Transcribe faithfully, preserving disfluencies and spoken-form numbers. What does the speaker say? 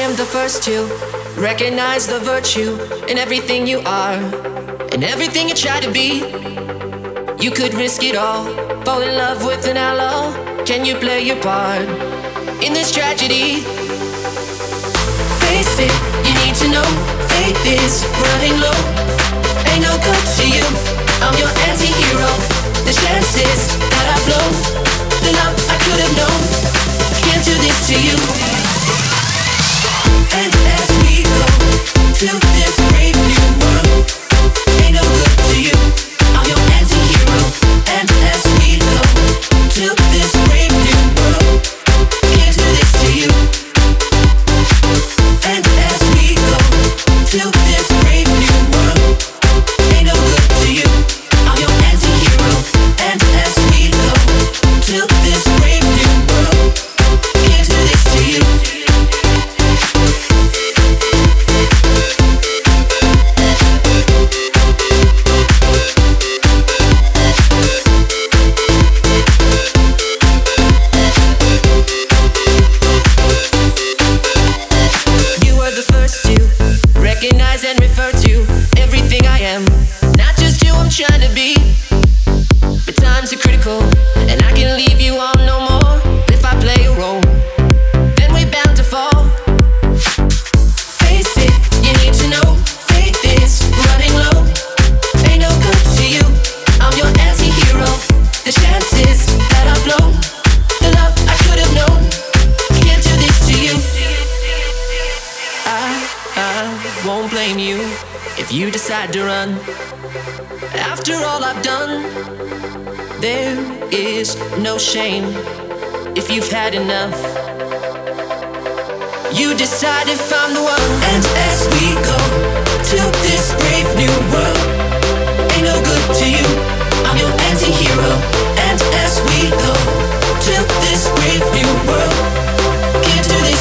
am the first to recognize the virtue in everything you are, in everything you try to be. You could risk it all, fall in love with an outlaw. Can you play your part in this tragedy? Face it, you need to know, faith is running low. Ain't no good to you, I'm your anti-hero. The chances that I blow, the love I could have known, can't do this to you. And as we go to this brave new world, ain't no good to you, I'm your anti-hero. And as we go to this brave new world, can't do this to you. And as we go to this brave new world, ain't no good to you, I'm your anti-hero. And as we go to this brave new world, can't do this to you. Recognize and refer to everything I am, not just who I'm trying to be. But times are critical, and I can leave you on no more. If I play a role, then we're bound to fall. Face it, you need to know, faith is running low. Ain't no good to you, I'm your anti-hero. The chances that I blow, the love I could have known, can't do this to you. I I won't blame you if you decide to run. After all I've done, there is no shame if you've had enough. You decide if I'm the one. And as we go to this brave new world, ain't no good to you, I'm your anti-hero. And as we go to this brave new world, can't do this